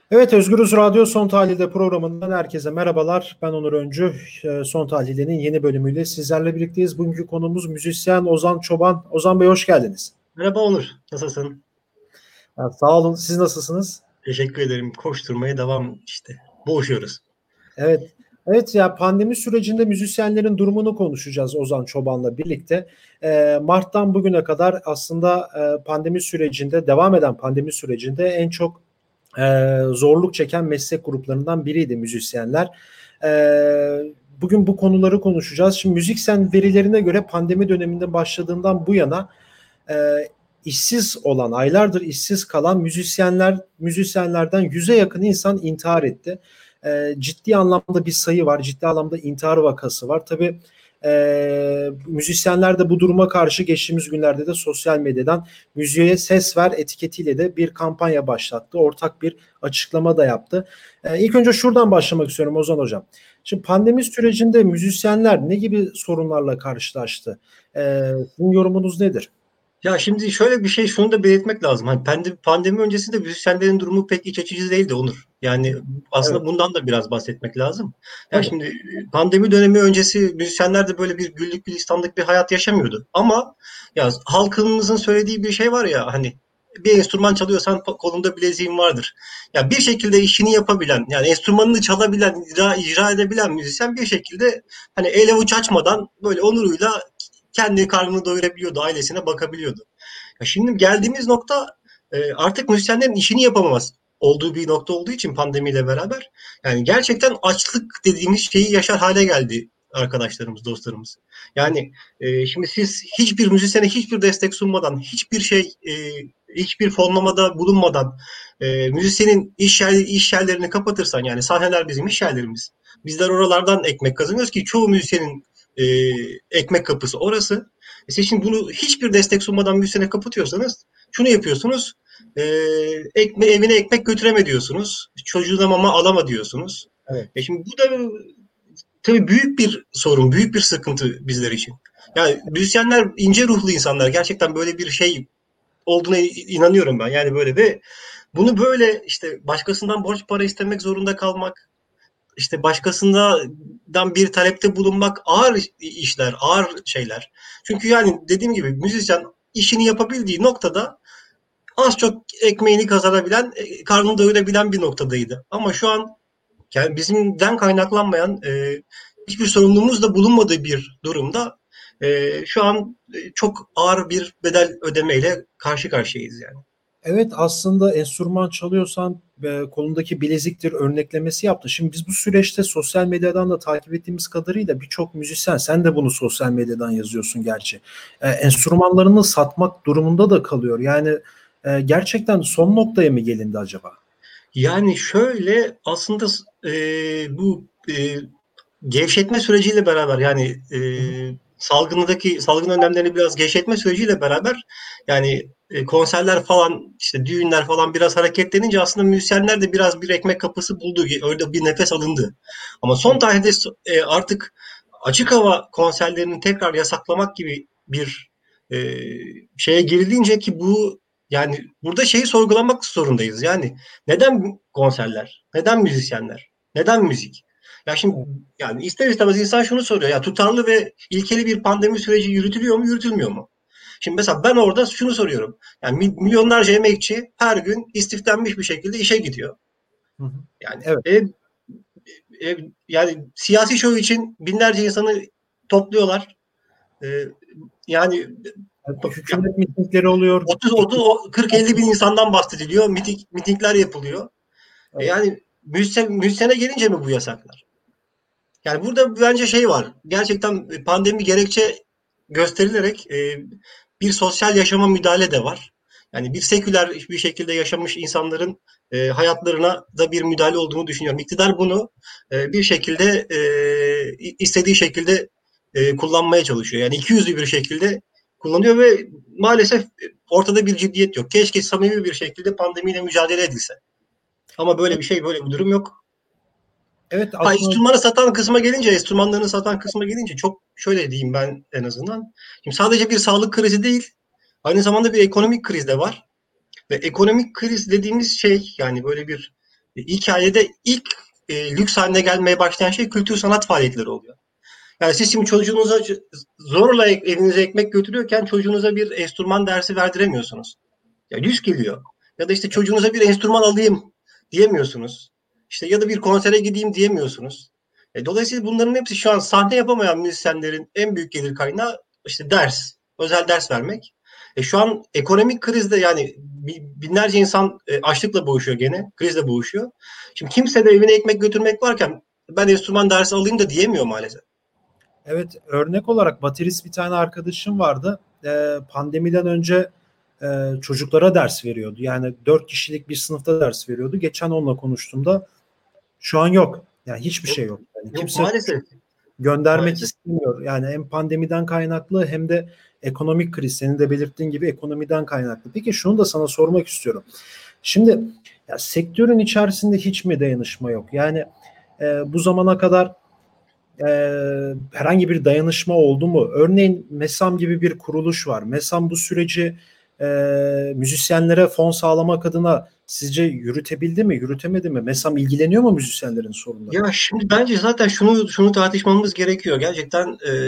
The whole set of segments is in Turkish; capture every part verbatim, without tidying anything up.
Evet, Özgürüz Radyo Son Tahlil'de programından herkese merhabalar. Ben Onur Öncü. Ee, Son Tahlil'in yeni bölümüyle sizlerle birlikteyiz. Bugünkü konumuz müzisyen Ozan Çoban. Ozan Bey, hoş geldiniz. Merhaba Onur, nasılsın? Ha, sağ olun. Siz nasılsınız? Teşekkür ederim. Koşturmaya devam işte. Boğuşuyoruz. Evet. Evet, ya pandemi sürecinde müzisyenlerin durumunu konuşacağız Ozan Çoban'la birlikte. Ee, Mart'tan bugüne kadar aslında e, pandemi sürecinde, devam eden pandemi sürecinde en çok e, zorluk çeken meslek gruplarından biriydi müzisyenler. E, Bugün bu konuları konuşacağız. Şimdi müziksen verilerine göre pandemi döneminde başladığından bu yana e, işsiz olan, aylardır işsiz kalan müzisyenler, müzisyenlerden yüze yakın insan intihar etti. E, ciddi anlamda bir sayı var, ciddi anlamda intihar vakası var. Tabii e, müzisyenler de bu duruma karşı geçtiğimiz günlerde de sosyal medyadan müziğe ses ver etiketiyle de bir kampanya başlattı. Ortak bir açıklama da yaptı. E, ilk önce şuradan başlamak istiyorum Ozan Hocam. Şimdi pandemi sürecinde müzisyenler ne gibi sorunlarla karşılaştı? E, sizin yorumunuz nedir? Ya şimdi şöyle bir şey, şunu da belirtmek lazım. Hani pandemi, pandemi öncesinde müzisyenlerin durumu pek iç açıcı değildi Onur. Yani aslında Evet, bundan da biraz bahsetmek lazım. Ya tabii. şimdi pandemi dönemi öncesi müzisyenler de böyle bir güllük gülistanlık bir hayat yaşamıyordu. Ama ya halkımızın söylediği bir şey var ya, hani bir enstrüman çalıyorsan kolunda bileziğin vardır. Ya bir şekilde işini yapabilen, yani enstrümanını çalabilen, icra, icra edebilen müzisyen bir şekilde hani el avuç açmadan böyle onuruyla kendi karnını doyurabiliyordu, ailesine bakabiliyordu. Ya şimdi geldiğimiz nokta e, artık müzisyenlerin işini yapamamaz olduğu bir nokta olduğu için pandemiyle beraber yani gerçekten açlık dediğimiz şeyi yaşar hale geldi arkadaşlarımız, dostlarımız. Yani e, şimdi siz hiçbir müzisyene hiçbir destek sunmadan, hiçbir şey, e, hiçbir fonlamada bulunmadan e, müzisyenin iş, yer, iş yerlerini kapatırsan, yani sahneler bizim iş yerlerimiz. Bizler oralardan ekmek kazanıyoruz ki çoğu müzisyenin e, ekmek kapısı orası. E siz şimdi bunu hiçbir destek sunmadan müzisyene kapatıyorsanız şunu yapıyorsunuz. E, ekme, evine ekmek götüreme diyorsunuz. Çocuğuna mama alama diyorsunuz. E Evet. şimdi bu da tabii büyük bir sorun, büyük bir sıkıntı bizler için. Yani müzisyenler ince ruhlu insanlar. Gerçekten böyle bir şey olduğuna inanıyorum ben. Yani böyle ve bunu böyle işte başkasından borç para istemek zorunda kalmak, işte başkasından bir talepte bulunmak ağır işler, ağır şeyler. Çünkü yani dediğim gibi müzisyen işini yapabildiği noktada az çok ekmeğini kazanabilen, e, karnını doyurabilen bir noktadaydı. Ama şu an yani bizimden kaynaklanmayan e, hiçbir sorumluluğumuz da bulunmadığı bir durumda e, şu an e, çok ağır bir bedel ödemeyle karşı karşıyayız yani. Evet, aslında enstrüman çalıyorsan e, kolundaki bileziktir örneklemesi yaptı. Şimdi biz bu süreçte sosyal medyadan da takip ettiğimiz kadarıyla birçok müzisyen, sen de bunu sosyal medyadan yazıyorsun gerçi. E, enstrümanlarını satmak durumunda da kalıyor. Yani e, gerçekten son noktaya mı gelindi acaba? Yani şöyle aslında e, bu e, gevşetme süreciyle beraber yani e, Hı hı. salgındaki salgın önlemlerini biraz gevşetme süreciyle beraber yani e, konserler falan işte düğünler falan biraz hareketlenince aslında müzisyenler de biraz bir ekmek kapısı buldu. Öyle bir nefes alındı. Ama son Evet. tarihte e, artık açık hava konserlerini tekrar yasaklamak gibi bir e, şeye girilince ki bu yani burada şeyi sorgulamak zorundayız. Yani neden konserler? Neden müzisyenler? Neden müzik? Ya şimdi Evet. yani ister istemez insan şunu soruyor. Ya tutarlı ve ilkeli bir pandemi süreci yürütülüyor mu, yürütülmüyor mu? Şimdi mesela ben orada şunu soruyorum. Yani milyonlarca emekçi her gün istiflenmiş bir şekilde işe gidiyor. Hı hı. Yani Evet. e, e, yani siyasi şov için binlerce insanı topluyorlar. E, yani Evet, hükümet mitingleri oluyor. otuz İktidar- otuz kırk elli bin insandan bahsediliyor. Miting, mitingler yapılıyor. E Evet. yani müzisyen, müzisyene gelince mi bu yasaklar? Yani burada bence şey var. Gerçekten pandemi gerekçe gösterilerek e, bir sosyal yaşama müdahale de var. Yani bir seküler bir şekilde yaşamış insanların e, hayatlarına da bir müdahale olduğunu düşünüyorum. İktidar bunu e, bir şekilde e, istediği şekilde e, kullanmaya çalışıyor. Yani ikiyüzlü bir şekilde kullanıyor ve maalesef ortada bir ciddiyet yok. Keşke samimi bir şekilde pandemiyle mücadele edilse. Ama böyle bir şey, böyle bir durum yok. Evet, Ha, aslında enstrümanı satan kısma gelince, enstrümanlarını satan kısma gelince çok şöyle diyeyim ben en azından. Şimdi sadece bir sağlık krizi değil, aynı zamanda bir ekonomik kriz de var. Ve ekonomik kriz dediğimiz şey yani böyle bir E, hikayede ilk e, lüks haline gelmeye başlayan şey kültür sanat faaliyetleri oluyor. Yani siz şimdi çocuğunuza zorla evinize ekmek götürüyorken çocuğunuza bir enstrüman dersi verdiremiyorsunuz. Ya lüks geliyor. Ya da işte çocuğunuza bir enstrüman alayım diyemiyorsunuz. İşte ya da bir konsere gideyim diyemiyorsunuz. E, dolayısıyla bunların hepsi şu an sahne yapamayan müzisyenlerin en büyük gelir kaynağı işte ders, özel ders vermek. E, şu an ekonomik krizde yani binlerce insan e, açlıkla boğuşuyor gene, krizle boğuşuyor. Şimdi kimse de evine ekmek götürmek varken ben enstrüman dersi alayım da diyemiyor maalesef. Evet, örnek olarak baterist bir tane arkadaşım vardı. Ee, pandemiden önce e, çocuklara ders veriyordu. Yani dört kişilik bir sınıfta ders veriyordu. Geçen onunla konuştuğumda şu an yok. Yani hiçbir Yok, şey yok. Yani yok kimse maalesef. göndermek Maalesef. istemiyor. Yani hem pandemiden kaynaklı hem de ekonomik kriz. Senin de belirttiğin gibi ekonomiden kaynaklı. Peki şunu da sana sormak istiyorum. Şimdi ya sektörün içerisinde hiç mi dayanışma yok? Yani e, bu zamana kadar e, herhangi bir dayanışma oldu mu? Örneğin MESAM gibi bir kuruluş var. MESAM bu süreci e, müzisyenlere fon sağlamak adına sizce yürütebildi mi, yürütemedi mi? MESAM ilgileniyor mu müzisyenlerin sorunlarıyla? Ya şimdi bence zaten şunu şunu tartışmamız gerekiyor. Gerçekten e,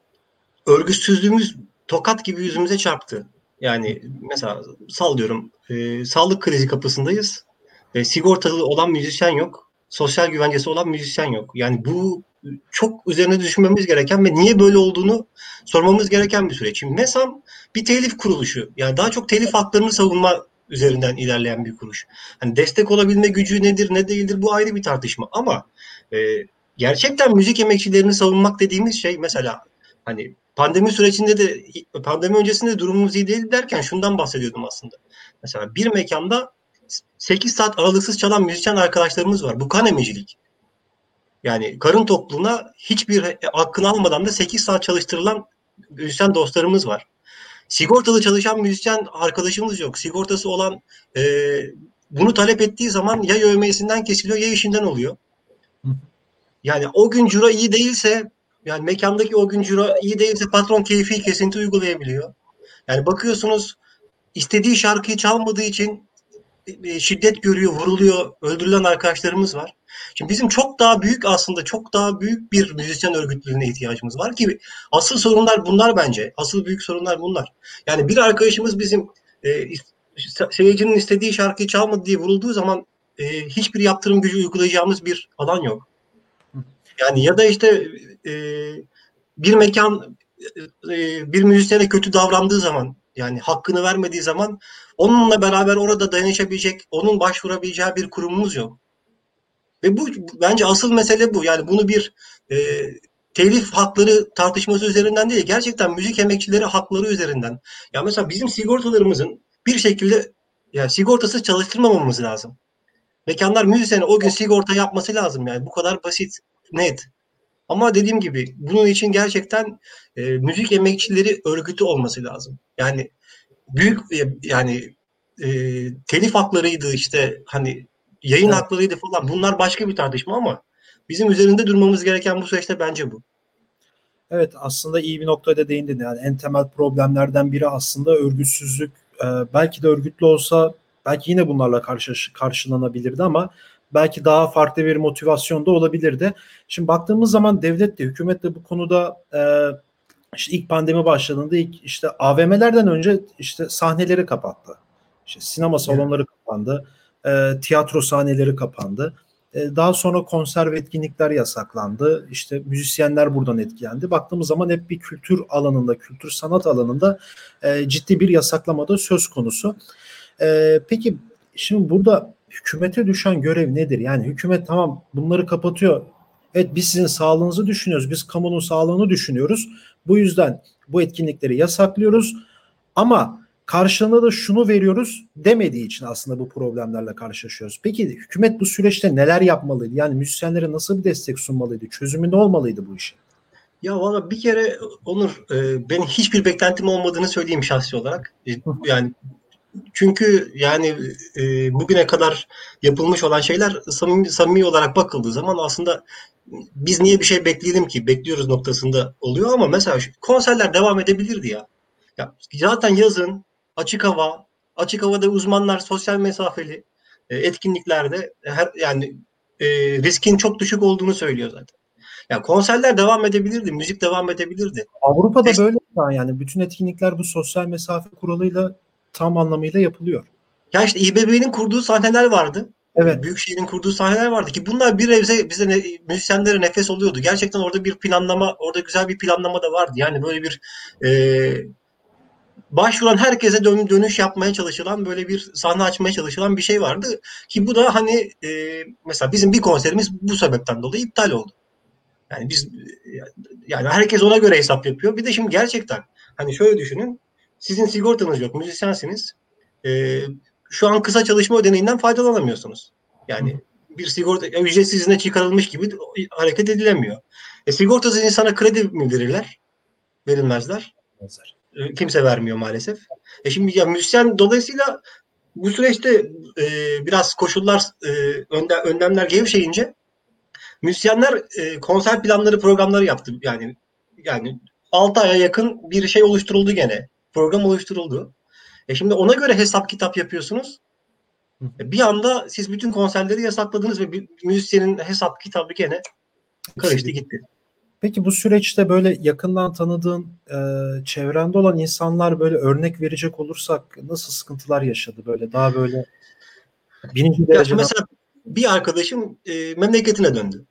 örgütsüzlüğümüz tokat gibi yüzümüze çarptı. Yani mesela sallıyorum e, sağlık krizi kapısındayız. E, sigortalı olan müzisyen yok. Sosyal güvencesi olan müzisyen yok. Yani bu çok üzerine düşünmemiz gereken ve niye böyle olduğunu sormamız gereken bir süreç. Şimdi MESAM bir telif kuruluşu. Yani daha çok telif haklarını savunma üzerinden ilerleyen bir kuruluş. Hani destek olabilme gücü nedir ne değildir bu ayrı bir tartışma. Ama e, gerçekten müzik emekçilerini savunmak dediğimiz şey mesela hani pandemi sürecinde de pandemi öncesinde de durumumuz iyi değil derken şundan bahsediyordum aslında. Mesela bir mekanda sekiz saat aralıksız çalan müzisyen arkadaşlarımız var. Bu kan emicilik. Yani karın tokluğuna hiçbir hakkını almadan da sekiz saat çalıştırılan müzisyen dostlarımız var. Sigortalı çalışan müzisyen arkadaşımız yok. Sigortası olan e, bunu talep ettiği zaman ya yevmiyesinden kesiliyor ya işinden oluyor. Yani o gün ciro iyi değilse yani mekandaki o gün ciro iyi değilse patron keyfi kesinti uygulayabiliyor. Yani bakıyorsunuz istediği şarkıyı çalmadığı için e, şiddet görüyor, vuruluyor, öldürülen arkadaşlarımız var. Şimdi bizim çok daha büyük aslında çok daha büyük bir müzisyen örgütlülüğüne ihtiyacımız var ki asıl sorunlar bunlar bence. Asıl büyük sorunlar bunlar. Yani bir arkadaşımız bizim e, seyircinin istediği şarkıyı çalmadı diye vurulduğu zaman e, hiçbir yaptırım gücü uygulayacağımız bir alan yok. Yani ya da işte e, bir mekan e, bir müzisyene kötü davrandığı zaman yani hakkını vermediği zaman onunla beraber orada dayanışabilecek, onun başvurabileceği bir kurumumuz yok. Ve bu bence asıl mesele bu. Yani bunu bir e, telif hakları tartışması üzerinden değil, gerçekten müzik emekçileri hakları üzerinden. Ya mesela bizim sigortalarımızın bir şekilde yani sigortasız çalıştırmamamız lazım. Mekanlar müzisyene o gün sigorta yapması lazım yani bu kadar basit, net. Ama dediğim gibi bunun için gerçekten e, müzik emekçileri örgütü olması lazım. Yani büyük e, yani e, telif haklarıydı işte hani yayın Evet. haklarıydı falan bunlar başka bir tartışma ama bizim üzerinde durmamız gereken bu süreçte bence bu. Evet, aslında iyi bir noktaya değindin. Yani en temel problemlerden biri aslında örgütsüzlük. Ee, belki de örgütlü olsa belki yine bunlarla karşı, karşılanabilirdi ama belki daha farklı bir motivasyon da olabilirdi. Şimdi baktığımız zaman devlet de hükümet de bu konuda e, işte ilk pandemi başladığında ilk işte A V M'lerden önce işte sahneleri kapattı. İşte sinema Evet. salonları kapandı. E, tiyatro sahneleri kapandı. E, daha sonra konser ve etkinlikler yasaklandı. İşte müzisyenler buradan etkilendi. Baktığımız zaman hep bir kültür alanında, kültür sanat alanında e, ciddi bir yasaklamada söz konusu. E, peki şimdi burada hükümete düşen görev nedir? Yani hükümet tamam bunları kapatıyor. Evet biz sizin sağlığınızı düşünüyoruz. Biz kamunun sağlığını düşünüyoruz. Bu yüzden bu etkinlikleri yasaklıyoruz. Ama karşılığında da şunu veriyoruz demediği için aslında bu problemlerle karşılaşıyoruz. Peki hükümet bu süreçte neler yapmalıydı? Yani müzisyenlere nasıl bir destek sunmalıydı? Çözümü ne olmalıydı bu işin? Ya valla bir kere Onur e, benim hiçbir beklentim olmadığını söyleyeyim şahsi olarak. E, yani çünkü yani e, bugüne kadar yapılmış olan şeyler samimi, samimi olarak bakıldığı zaman aslında biz niye bir şey bekleyelim ki bekliyoruz noktasında oluyor ama mesela şu konserler devam edebilirdi ya. Ya zaten yazın açık hava, açık havada uzmanlar sosyal mesafeli. e, etkinliklerde her yani e, riskin çok düşük olduğunu söylüyor zaten. Yani konserler devam edebilirdi, müzik devam edebilirdi. Avrupa'da Fest- böyle şu an, yani bütün etkinlikler bu sosyal mesafe kuralıyla tam anlamıyla yapılıyor. Ya işte İBB'nin kurduğu sahneler vardı. E, Evet. Büyükşehir'in kurduğu sahneler vardı ki bunlar bir nebze bize ne, müzisyenlere nefes oluyordu. Gerçekten orada bir planlama, orada güzel bir planlama da vardı. Yani böyle bir e, başvuran herkese dön, dönüş yapmaya çalışılan böyle bir sahne açmaya çalışılan bir şey vardı ki bu da hani e, mesela bizim bir konserimiz bu sebepten dolayı iptal oldu. Yani biz yani herkes ona göre hesap yapıyor. Bir de şimdi gerçekten hani şöyle düşünün. Sizin sigortanız yok, müzisyensiniz. Ee, Şu an kısa çalışma ödeneğinden faydalanamıyorsunuz. Yani bir sigorta ücretsiz izne çıkarılmış gibi hareket edilemiyor. E, sigortasız insana kredi mi verirler? Verilmezler. Benzer. E, kimse vermiyor maalesef. E şimdi ya müzisyen dolayısıyla bu süreçte e, biraz koşullar e, önde, önlemler gevşeyince müzisyenler e, konser planları, programları yaptı. Yani yani altı aya yakın bir şey oluşturuldu gene. Program oluşturuldu. E şimdi ona göre hesap kitap yapıyorsunuz. E bir anda siz bütün konserleri yasakladınız ve bir müzisyenin hesap kitabı gene karıştı gitti. Peki bu süreçte böyle yakından tanıdığın, e, çevrende olan insanlar, böyle örnek verecek olursak nasıl sıkıntılar yaşadı, böyle daha böyle birinci Ya şimdi dereceden? mesela bir arkadaşım e, memleketine döndü.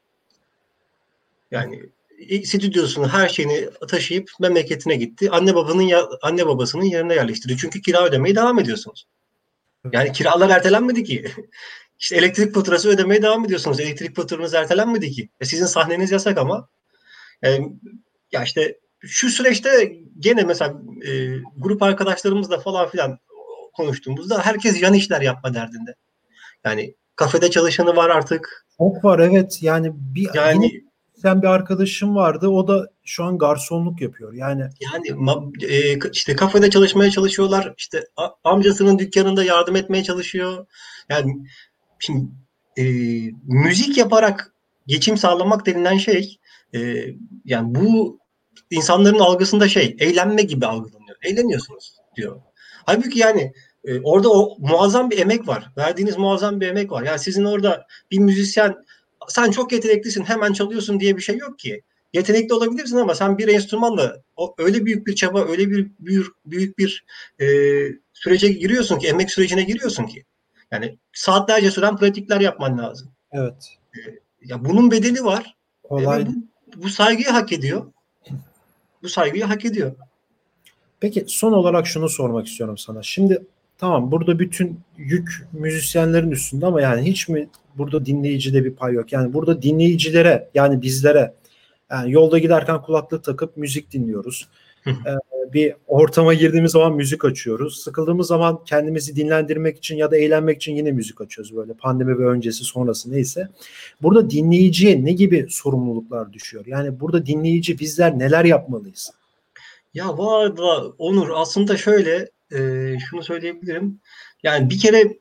Yani e, stüdyosunu, her şeyini taşıyıp memleketine gitti. Anne babanın ya, anne babasının yerine yerleştirdi. Çünkü kira ödemeye devam ediyorsunuz. Yani kiralar ertelenmedi ki. İşte elektrik faturası ödemeye devam ediyorsunuz. Elektrik faturanız ertelenmedi ki. E sizin sahneniz yasak ama. Yani, ya işte şu süreçte gene mesela e, grup arkadaşlarımızla falan filan konuştuğumuzda herkes yan işler yapma derdinde. Yani kafede çalışanı var artık. Çok var, evet, yani bir yine Yani sen bir arkadaşım vardı, o da şu an garsonluk yapıyor yani. yani ma- e, işte kafede çalışmaya çalışıyorlar. İşte a- amcasının dükkanında yardım etmeye çalışıyor. Yani şimdi e, müzik yaparak geçim sağlamak denilen şey e, yani bu insanların algısında şey eğlenme gibi algılanıyor. Eğleniyorsunuz diyor. Halbuki yani e, orada o muazzam bir emek var. Verdiğiniz muazzam bir emek var. Yani sizin orada bir müzisyen sen çok yeteneklisin hemen çalıyorsun diye bir şey yok ki. Yetenekli olabilirsin ama sen bir enstrümanla o, öyle büyük bir çaba, öyle bir büyük, büyük bir e, sürece giriyorsun ki, emek sürecine giriyorsun ki. Yani saatlerce süren pratikler yapman lazım. Evet, E, Ya bunun bedeli var e, ve kolay. bu, bu saygıyı hak ediyor. Bu saygıyı hak ediyor. Peki son olarak şunu sormak istiyorum sana. Şimdi tamam, burada bütün yük müzisyenlerin üstünde ama yani hiç mi burada dinleyicide bir pay yok? Yani burada dinleyicilere, yani bizlere, yani yolda giderken kulaklık takıp müzik dinliyoruz. Ee, bir ortama girdiğimiz zaman müzik açıyoruz. Sıkıldığımız zaman kendimizi dinlendirmek için ya da eğlenmek için yine müzik açıyoruz, böyle pandemi ve öncesi sonrası neyse. Burada dinleyiciye ne gibi sorumluluklar düşüyor? Yani burada dinleyici, bizler neler yapmalıyız? Ya bu arada Onur aslında şöyle e, şunu söyleyebilirim. Yani bir kere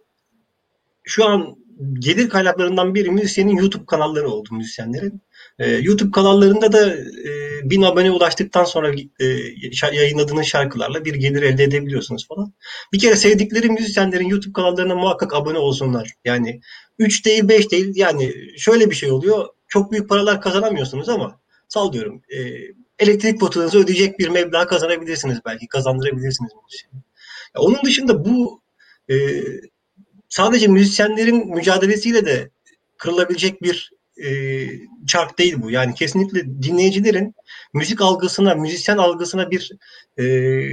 şu an gelir kaynaklarından biri müzisyenin YouTube kanalları oldu müzisyenlerin. Ee, YouTube kanallarında da e, bin abone ulaştıktan sonra e, yayınladığınız şarkılarla bir gelir elde edebiliyorsunuz falan. Bir kere sevdikleri müzisyenlerin YouTube kanallarına muhakkak abone olsunlar. Yani üç değil beş değil yani şöyle bir şey oluyor. Çok büyük paralar kazanamıyorsunuz ama sallıyorum e, elektrik faturanızı ödeyecek bir meblağ kazanabilirsiniz belki kazandırabilirsiniz müzisyene. Ya onun dışında bu e, sadece müzisyenlerin mücadelesiyle de kırılabilecek bir e, çark değil bu. Yani kesinlikle dinleyicilerin müzik algısına, müzisyen algısına bir e,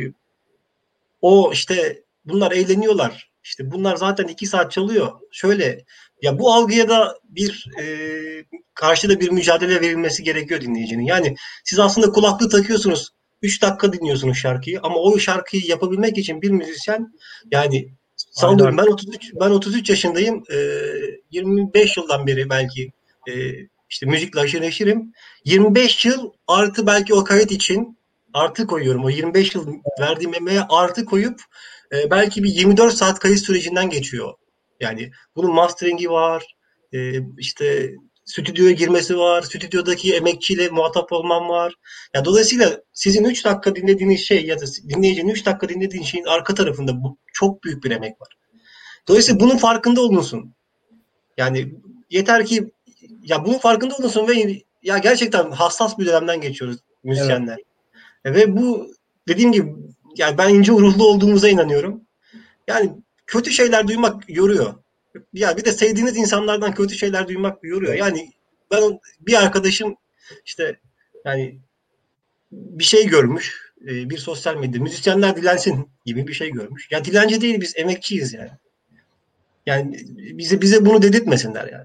o işte bunlar eğleniyorlar. İşte bunlar zaten iki saat çalıyor. Şöyle ya bu algıya da bir e, karşıda bir mücadele verilmesi gerekiyor dinleyicinin. Yani siz aslında kulaklığı takıyorsunuz. Üç dakika dinliyorsunuz şarkıyı ama o şarkıyı yapabilmek için bir müzisyen yani Aylar. sallıyorum ben otuz üç ben otuz üç yaşındayım. E, yirmi beş yıldan beri belki e, işte müzikle aşırı neşirim. yirmi beş yıl artı belki o kayıt için artı koyuyorum. O yirmi beş yıl verdiğim emeğe artı koyup e, belki bir yirmi dört saat kayıt sürecinden geçiyor. Yani bunun mastering'i var, e, işte stüdyoya girmesi var, stüdyodaki emekçiyle muhatap olmam var. Yani dolayısıyla sizin üç dakika dinlediğiniz şey ya da dinleyicinin üç dakika dinlediğin şeyin arka tarafında bu çok büyük bir emek var. Dolayısıyla bunun farkında olunsun. Yani yeter ki ya bunun farkında olunsun ve ya gerçekten hassas bir dönemden geçiyoruz Evet. müzisyenler. Ve bu dediğim gibi yani ben ince ruhlu olduğumuza inanıyorum. Yani kötü şeyler duymak yoruyor. Ya bir de sevdiğiniz insanlardan kötü şeyler duymak yoruyor. Evet. Yani ben bir arkadaşım işte yani bir şey görmüş. e, Bir sosyal medya müzisyenler dilensin gibi bir şey görmüş. Ya dilenci değil biz emekçiyiz yani. Yani bize bize bunu dedirtmesinler yani.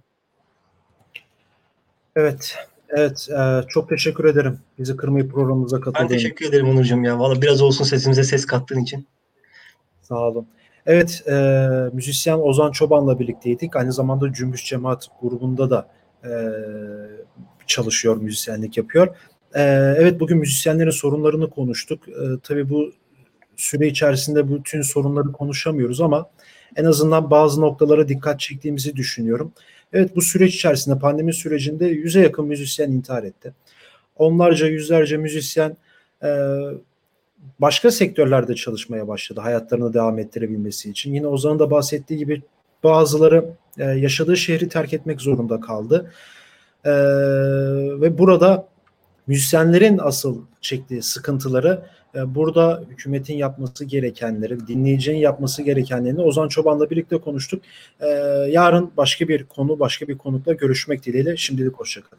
Evet. Evet. E, çok teşekkür ederim. Bizi kırmayıp programımıza Ben katıldığın için. teşekkür ederim Onurcuğum ya. Valla biraz olsun sesimize ses kattığın için. Sağ olun. Evet, e, müzisyen Ozan Çoban'la birlikteydik. Aynı zamanda Cümbüş Cemaat grubunda da e, çalışıyor, müzisyenlik yapıyor. E, evet, bugün müzisyenlerin sorunlarını konuştuk. E, tabii bu süre içerisinde bütün sorunları konuşamıyoruz ama en azından bazı noktalara dikkat çektiğimizi düşünüyorum. Evet, bu süreç içerisinde, pandemi sürecinde yüze yakın müzisyen intihar etti. Onlarca, yüzlerce müzisyen e, başka sektörlerde çalışmaya başladı hayatlarını devam ettirebilmesi için. Yine Ozan'ın da bahsettiği gibi bazıları e, yaşadığı şehri terk etmek zorunda kaldı. E, ve burada müzisyenlerin asıl çektiği sıkıntıları e, burada hükümetin yapması gerekenleri, dinleyicinin yapması gerekenlerini Ozan Çoban'la birlikte konuştuk. E, yarın başka bir konu, başka bir konukla görüşmek dileğiyle. Şimdilik hoşçakalın.